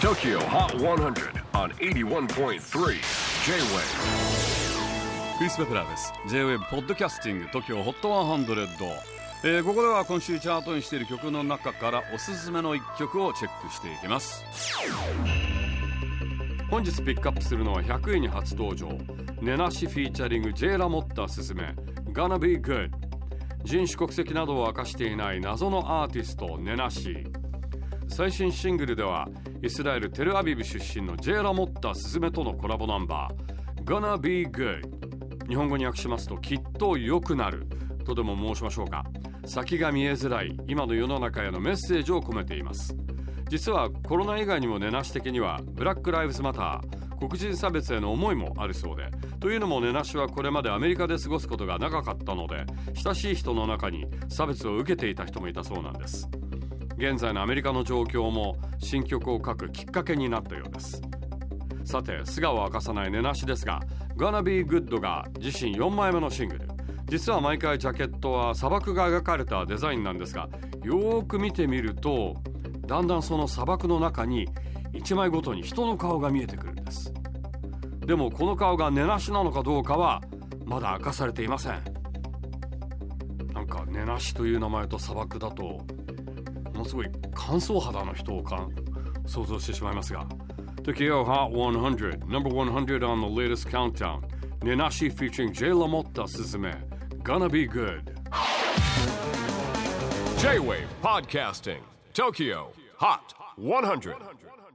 TOKYO HOT 100 on 81.3 J-WAVE クリス・ベプラーです。 J-WAVE ポッドキャスティング TOKYO HOT 100、ここでは今週チャートにしている曲の中からおすすめの一曲をチェックしていきます。本日ピックアップするのは100位に初登場、ネナシフィーチャリング J ラモッタすすめ Gonna Be Good。 人種国籍などを明かしていない謎のアーティストネナシー。最新シングルではイスラエルテルアビブ出身の J ラモッタすすめとのコラボナンバー Gonna Be Good。 日本語に訳しますときっと良くなるとでも申しましょうか。先が見えづらい今の世の中へのメッセージを込めています。実はコロナ以外にもネナシ的にはブラックライブズマター、黒人差別への思いもあるそうで、というのもネナシはこれまでアメリカで過ごすことが長かったので、親しい人の中に差別を受けていた人もいたそうなんです。現在のアメリカの状況も新曲を書くきっかけになったようです。さて素顔を明かさないネナシですが、 Gonna Be Good が自身4枚目のシングル。実は毎回ジャケットは砂漠が描かれたデザインなんですが、よーく見てみるとだんだんその砂漠の中に1枚ごとに人の顔が見えてくるんです。でもこの顔がネナシなのかどうかはまだ明かされていません。なんかネナシという名前と砂漠だとものすごい乾燥肌の人を想像してしまいますが、 TOKYO HOT 100 Number 100 on the latest countdown, Nenashi featuring J LaMotta Suzume Gonna Be Good。 J-WAVE PODCASTING TOKYO HOT 100